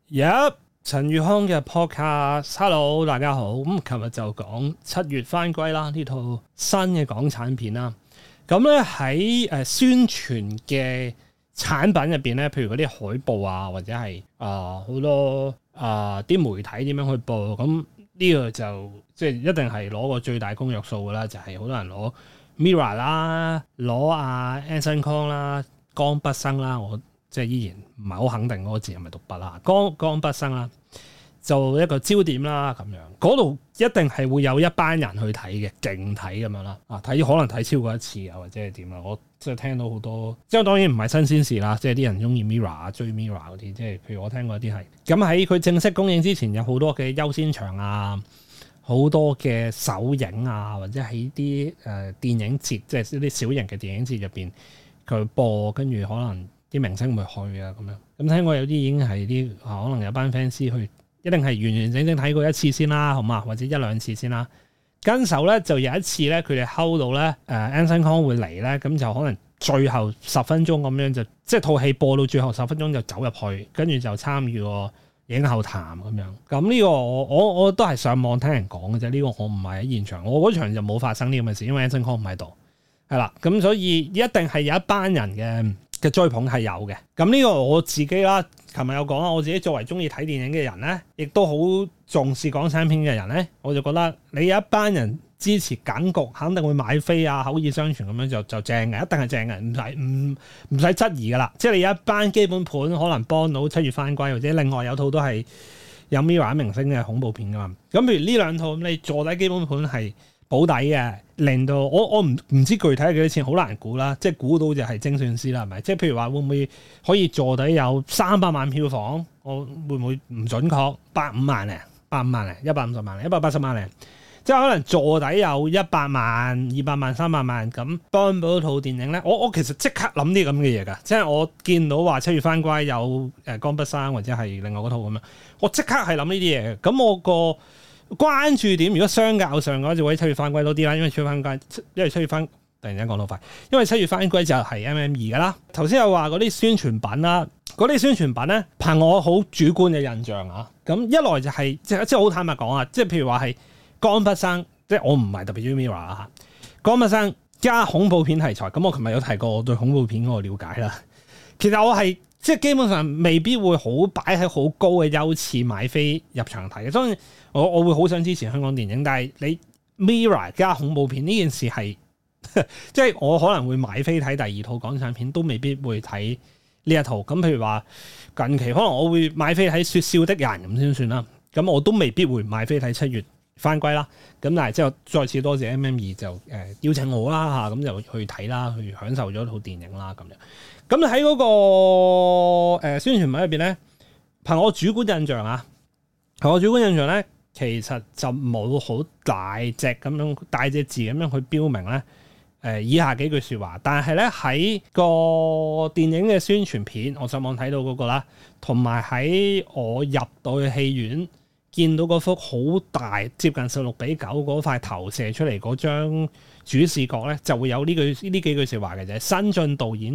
陳宇康嘅 podcast，Hello， 大家好。咁琴日就講7月返歸啦，呢套新嘅港產片啦。咁咧喺宣傳嘅產品入邊咧，譬如嗰啲海報啊，或者係好多啲媒體點樣去播，咁呢個就即係一定係攞個最大公約數噶啦，就係好多人攞 Mirror 啦，攞Anson Kong 啦，江北生啦，我即係依然唔係好肯定嗰個字係咪讀筆啦，江北生啦，就一個焦點啦咁樣，嗰度一定係會有一班人去睇嘅，勁睇咁樣啦，睇可能睇超過一次啊，或者係點啊，我即係聽到好多，即係當然唔係新鮮事啦，即係啲人中意 Mirror 追 Mirror 嗰啲，即係譬如我聽過一啲係，咁喺佢正式公映之前有好多嘅優先場啊，好多嘅首映啊，或者喺啲電影節，即係啲小型嘅電影節入邊佢播，跟住可能啲明星會去啊咁樣，咁聽過有啲已經係啲可能有班 fans 去，一定係完完整整睇過一次先啦，好嘛？或者一兩次先啦。跟手咧就有一次咧，佢哋 hold 到咧Anson Kong 會嚟咧，咁就可能最後10分鐘咁樣就，即係套戲播到最後10分鐘就走入去，跟住就參與個影後談咁樣。咁呢個我都係上網聽人講嘅啫，呢個我唔係喺現場，我嗰場就冇發生呢咁嘅事，因為 Anson Kong 唔喺度。係啦，咁所以一定係有一班人嘅追捧係有嘅。咁呢個我自己啦，琴日有講啦，我自己作為中意睇電影嘅人咧，亦都好重視港產片嘅人咧，我就覺得你有一班人支持梗局，肯定會買飛啊，口耳相傳咁樣就正嘅，一定係正嘅，唔使質疑噶啦。即係你有一班基本盤可能幫到7月返歸，或者另外有套都係有 Mirror 明星嘅恐怖片噶嘛。咁譬如呢兩套，咁你坐底基本盤係保底嘅，令到我唔知具體係幾多錢，好難估啦。即係估到就係精算師啦，係咪？即係譬如話會唔會可以坐底有300萬票房？我會唔會唔準確？85萬咧，85萬咧，150萬咧，180萬咧，即係可能坐底有100萬、200萬、300萬咁幫補套電影咧。我其實即刻諗啲咁嘅嘢㗎，即係我見到話7月返歸有江北生或者係另外嗰套咁樣，我即刻係諗呢啲嘢嘅。咁我個關注點，如果相較上嘅話，就會7月返歸多啲啦，因為7月返突然間講到快，因為7月返歸就係 MM2 噶啦。頭先有話嗰啲宣傳品啦，嗰啲宣傳品咧，憑我好主觀嘅印象啊，咁一來就係即係好坦白講啊，即係譬如話係江北生，即係我唔係特別中意 Mirror 啊，江北生加恐怖片題材，咁我琴日有提過我對恐怖片嗰個了解啦。其實我係即係基本上未必會好擺喺好高嘅優次買飛入場睇嘅，當然我會好想支持香港電影，但係你 Mirror 加恐怖片呢件事係即係我可能會買飛睇第二套港產片，都未必會睇呢一套。咁譬如話近期可能我會買飛睇《説笑的人》咁先算啦，咁我都未必會買飛睇7月返歸啦。咁但係之後再次多謝 MM2 就邀請我啦嚇，咁就去睇啦，去享受咗套電影啦咁樣。咁喺嗰個宣傳品入邊咧，憑我主觀印象啊，憑我主觀印象咧，其實就冇好大隻字咁樣去標明咧，以下幾句説話。但係咧喺個電影嘅宣傳片，我上網睇到嗰個啦，同埋喺我入到去戲院見到嗰幅好大接近16:9嗰塊投射出嚟嗰張主視覺咧，就會有呢幾句説話嘅啫。新晉導演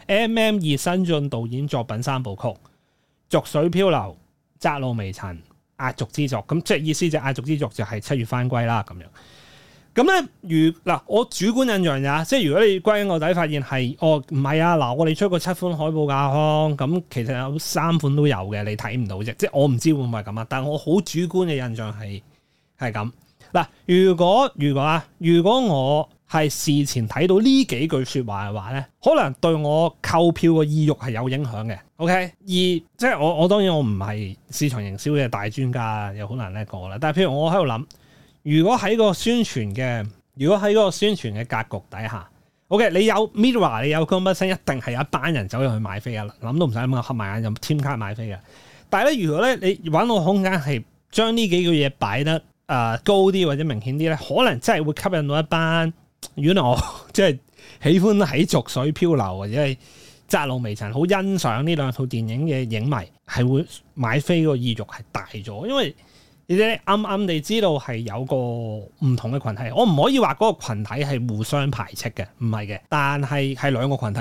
MM2 新晉導演作品3部曲，濁水漂流、窄路微塵、壓軸之作。咁即係意思就壓軸之作就係7月返歸啦咁樣。咁咧我主觀印象呀，即係如果你歸根究底發現係唔係啊，嗱我哋出過7款海報架康，咁其實有3款都有嘅，你睇唔到啫。即係我唔知會唔會咁啊，但係我好主觀嘅印象係咁。嗱，如果我係事前睇到呢幾句説話嘅話咧，可能對我購票嘅意欲係有影響嘅。OK， 而即係我當然我唔係市場營銷嘅大專家，又好難叻過啦。但係譬如我喺度諗，如果喺個宣傳嘅格局底下 ，OK， 你有 Mirror， 你有江北生，一定係有一班人走入去買飛啊！諗都唔使諗啊，合埋眼就添卡買飛嘅。但係咧，如果咧你揾個空間係將呢幾句嘢擺得高啲或者明顯啲咧，可能真係會吸引到一班原來我即係喜歡喺濁水漂流或者係窄路微塵好欣賞呢兩套電影嘅影迷，係會買飛個意欲係大咗，因為你暗暗地知道係有個唔同嘅群體，我唔可以話嗰個群體係互相排斥嘅，唔係嘅，但係兩個群體嚟嘅，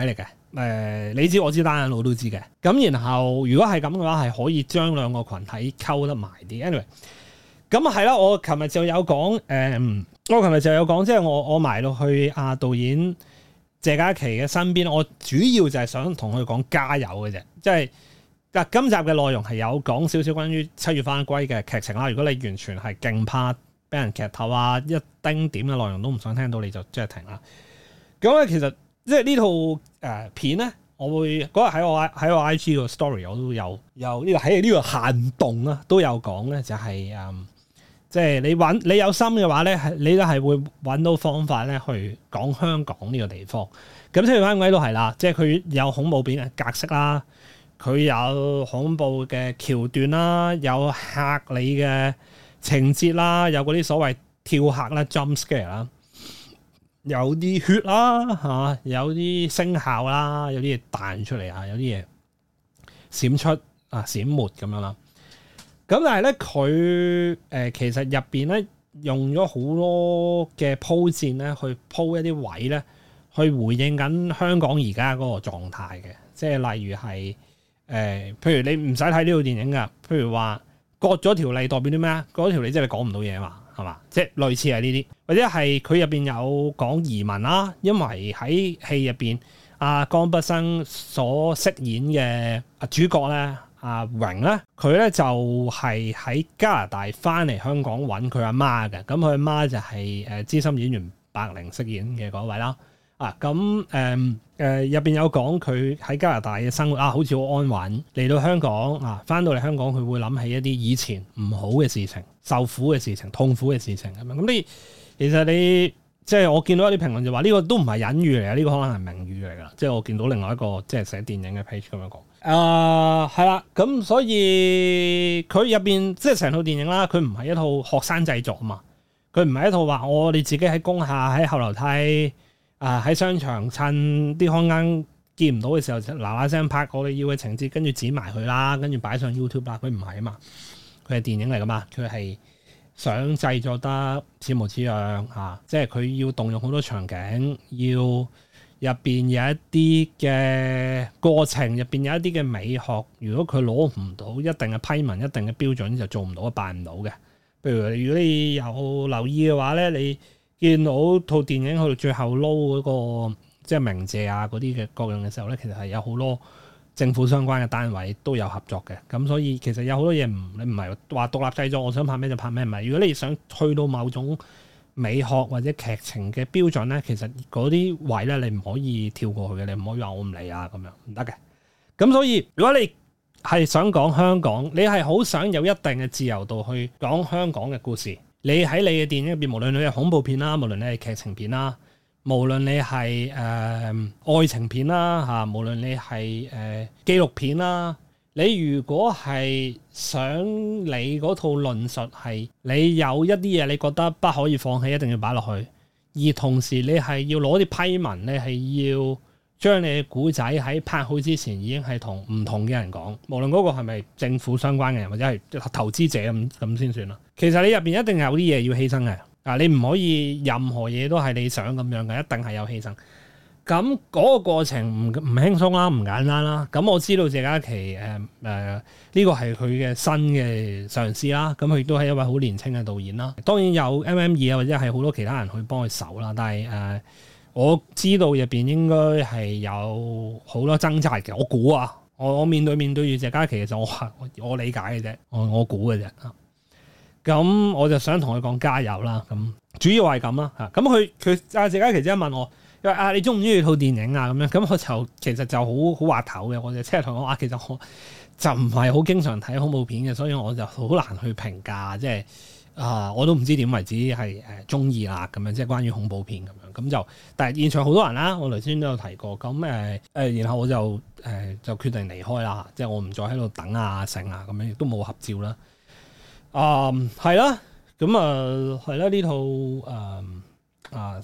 你知我知，單眼佬都知嘅。咁然後如果係咁嘅話，係可以將兩個群體溝得埋啲。anyway，咁係啦，我琴日就有講，即係我埋到去導演謝嘉琪嘅身邊，我主要就係想同佢講加油嘅啫。即係嗱，今集嘅內容係有講少少關於7月返歸嘅劇情啦。如果你完全係勁怕俾人劇透啊，一丁點嘅內容都唔想聽到，你就即係停啦。咁咧，其實即係呢套片咧，我會嗰日喺我 IG 個 story 我都有呢個喺呢個限動啦，都有講咧，就係即係你有心嘅話咧，你都係會揾到方法咧去講香港呢個地方。咁7月返歸都係啦，即係佢有恐怖片嘅格式啦，佢有恐怖嘅橋段啦，有嚇你嘅情節啦，有嗰啲所謂跳嚇啦 jump scare 啦，有啲血啦有啲聲效啦，有啲嘢彈出嚟啊，有啲嘢閃出閃沒咁樣啦。咁但係咧佢其實入邊咧用咗好多嘅鋪墊咧，去鋪一啲位咧，去回應緊香港而家嗰個狀態嘅。即係例如係譬如你唔使睇呢套電影噶，譬如話割咗條脷代表啲咩啊？割咗條脷即係你講唔到嘢嘛，係嘛？即係類似係呢啲，或者係佢入邊有講移民啦，因為喺戲入邊江北生所飾演嘅主角咧。阿榮咧，佢咧就係喺加拿大翻嚟香港揾佢阿媽嘅，咁佢阿媽就係資深演員白靈飾演嘅嗰位啦。咁入邊有講佢喺加拿大嘅生活好似好安穩，嚟到香港翻到嚟香港佢會諗起一啲以前唔好嘅事情、受苦嘅事情、痛苦嘅事情咁樣。咁其實你即係我見到一啲評論就話呢個都唔係隱喻嚟嘅，呢個可能係明喻嚟噶。即係我見到另外一個即係寫電影嘅 page 咁樣講。係啦，咁所以佢入邊即係成套電影啦，佢唔係一套學生製作啊嘛，佢唔係一套話我哋自己喺工廈喺後樓梯喺商場趁啲看更見唔到嘅時候嗱嗱聲拍我哋要嘅情節，跟住剪埋佢啦，跟住擺上 YouTube 啦，佢唔係啊嘛，佢係電影嚟噶嘛，佢係想製作得似模似樣即係佢要動用好多場景，要入邊有一啲嘅過程，入邊有一啲嘅美學，如果佢攞唔到一定嘅批文、一定嘅標準，就做唔到、辦唔到嘅。譬如如果你有留意嘅話咧，你見到套電影去到最後撈嗰個即係鳴謝嗰啲嘅各樣嘅時候咧，其實係有好多政府相關嘅單位都有合作嘅。咁所以其實有好多嘢你唔係話獨立製作，我想拍咩就拍咩，唔係。如果你想去到某種美學或者劇情嘅標準咧，其實嗰啲位咧你唔可以跳過去嘅，你唔可以話我唔理咁樣唔得嘅。咁所以如果你係想講香港，你係好想有一定嘅自由度去講香港嘅故事，你喺你嘅電影入邊，無論你係恐怖片啦，無論你係劇情片啦，無論你係愛情片啦無論你係紀錄片啦。你如果係想你嗰套論述係你有一啲嘢你覺得不可以放棄，一定要擺落去，而同時你係要攞啲批文，你係要將你嘅故仔喺拍好之前已經係同唔同嘅人講，無論嗰個係咪政府相關嘅人或者係投資者咁先算啦。其實你入邊一定有啲嘢要犧牲嘅，你唔可以任何嘢都係你想咁樣嘅，一定係有犧牲。咁嗰個過程唔輕鬆啦，唔簡單啦。咁我知道謝嘉琪呢個係佢嘅新嘅嘗試啦。咁佢亦都係一位好年輕嘅導演啦。當然有 MM2或者係好多其他人去幫佢手啦。但係我知道入邊應該係有好多掙扎嘅。我估我面對住謝嘉琪嘅時候，我理解嘅啫，我估嘅啫。咁我就想同佢講加油啦。咁主要係咁啦。咁佢謝嘉琪即刻問我。因為你中唔中意套電影咁樣？咁我就其實就好滑頭嘅，我就即係同佢話，其實我就唔係好經常睇恐怖片嘅，所以我就好難去評價，即係我都唔知點為止係中意啦咁樣，即係關於恐怖片咁樣。咁就但係現場好多人啦，我頭先都有提過。咁然後我就決定離開啦，即係我唔再喺度等剩咁樣，亦都冇合照啦。係啦，咁係啦，呢套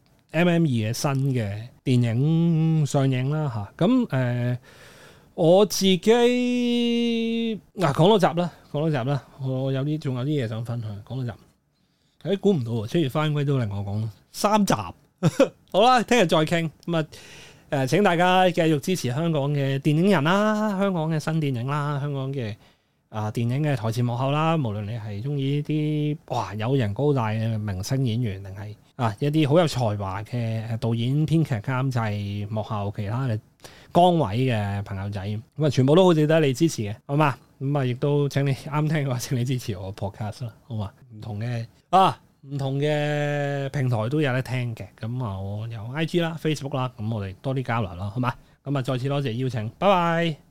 MM2 嘅新嘅電影上映啦咁我自己講多集啦，我仲有啲嘢想分享，講多集。估唔到7月返歸都令我講3集，好啦，聽日再傾。咁請大家繼續支持香港嘅電影人啦，香港嘅新電影啦，香港嘅電影嘅台前幕後啦，無論你係中意啲有人高大嘅明星演員，定係一啲好有才華嘅導演、編劇、監製、幕後其他嘅崗位嘅朋友仔，咁全部都好值得你支持嘅，好嘛？咁亦都請你啱聽嘅話，請你支持我 podcast 啦，好嘛？唔同嘅平台都有得聽嘅，咁我有 IG 啦、Facebook 啦，咁我哋多啲交流啦，好嘛？咁再次多謝邀請，拜拜。